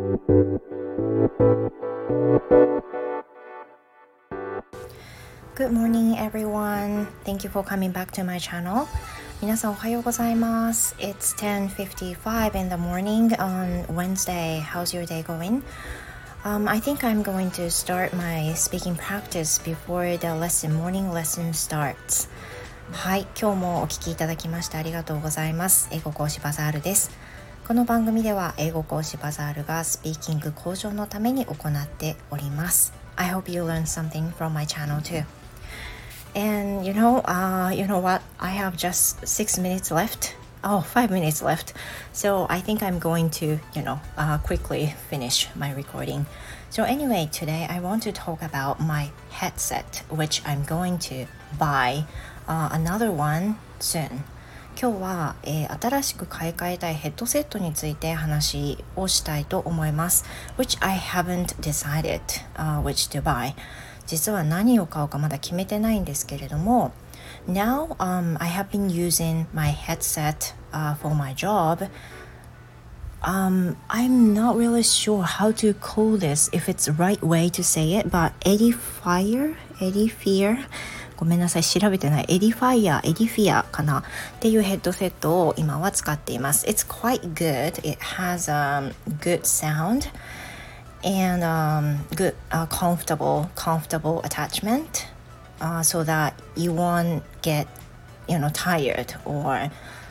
Good morning, everyone. Thank you for coming back to my channel. 皆さんおはようございます。It's 10:55 in the morning on Wednesday. How's your day going? I think I'm going to start my speaking practice before the morning lesson starts. はい、今日もお聞きいただきましてありがとうございます。英語講師バザールです。この番組では英語講師バザールがスピーキング向上のために行っております。I hope you learn something from my channel too.And you know what? I have just 6 minutes left. 5 minutes left. So I think I'm going to, quickly finish my recording. So anyway, today I want to talk about my headset, which I'm going to buy another one soon. 今日は、新しく買い替えたいヘッドセットについて話をしたいと思います。Which I haven't decided, which to buy.実は何を買うかまだ決めてないんですけれども Now, I have been using my headset for my job. I'm not really sure how to call this, if it's the right way to say it, but Edifier? ごめんなさい、調べてない。エディフィアかなっていうヘッドセットを今は使っています。It's quite good. It has a good sound.And good, comfortable attachment, so that you won't get, tired or,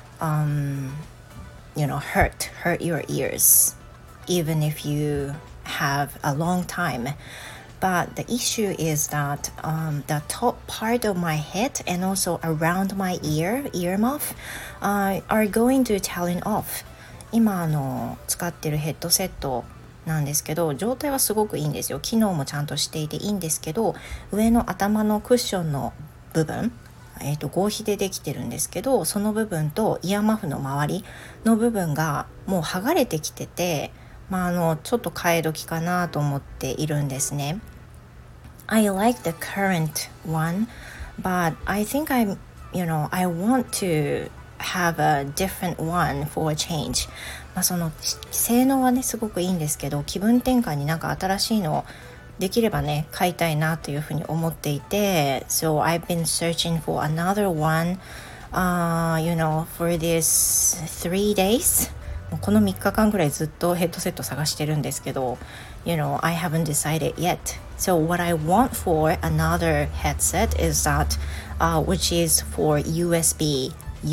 hurt your ears, even if you have a long time. But the issue is that the top part of my head and also around my earmuff, are going to telling off. 今使ってるヘッドセットなんですけど状態はすごくいいんですよ。機能もちゃんとしていていいんですけど上の頭のクッションの部分、合皮でできてるんですけどその部分とイヤーマフの周りの部分がもう剥がれてきてて、ちょっと替え時かなと思っているんですね。I like the current one, but I think I want to have a different one for a change.その性能はねすごくいいんですけど気分転換になんか新しいのできればね買いたいなというふうに思っていて So I've been searching for another one for this 3 days この3日間ぐらいずっとヘッドセット探してるんですけどI haven't decided yet So what I want for another headset is that which is for USB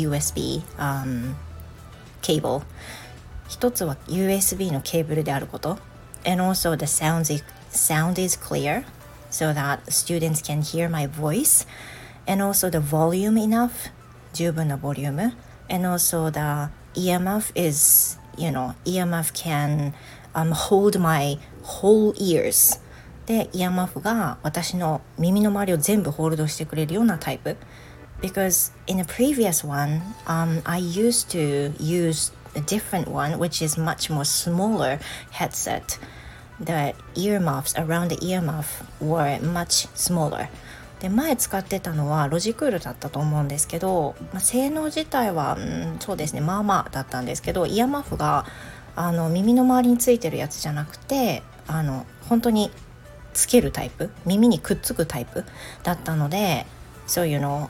cable一つは USB のケーブルであること and also the sound is clear so that students can hear my voice and also the volume enough 十分なボリューム and also the earmuff is earmuff can hold my whole ears でイヤーマフが私の耳の周りを全部ホールドしてくれるようなタイプ because in the previous one I used to use a different one which is much more smaller headset. The earmuffs around the earmuff were much smaller. で前使ってたのはロジクールだったと思うんですけど、性能自体は、そうですねまあまあだったんですけどイヤーマフが耳の周りについてるやつじゃなくて本当につけるタイプ耳にくっつくタイプだったので So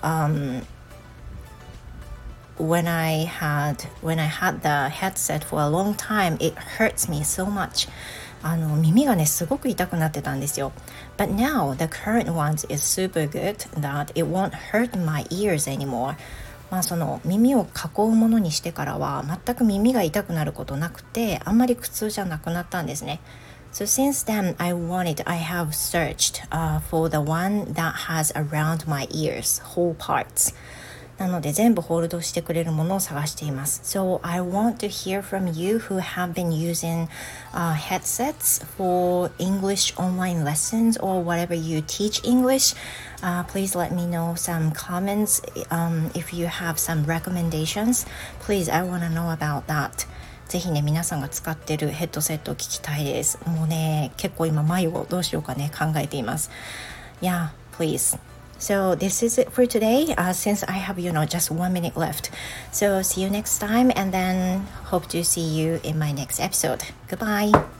when I had the headset for a long time, it hurts me so much. 耳がねすごく痛くなってたんですよ。But now the current ones is super good that it won't hurt my ears anymore. その耳を囲うものにしてからは全く耳が痛くなることなくてあんまり苦痛じゃなくなったんですね。So since then I have searched for the one that has around my ears, whole parts.なので全部ホールドしてくれるものを探しています。So I want to hear from you who have been using headsets for English online lessons or whatever you teach English. Please let me know some comments. If you have some recommendations, please I want to know about that. ぜひね皆さんが使ってるヘッドセットを聞きたいです。もうね結構今眉をどうしようかね考えています。Yeah, please.So this is it for today, since I have, just 1 minute left. So see you next time and then hope to see you in my next episode. Goodbye.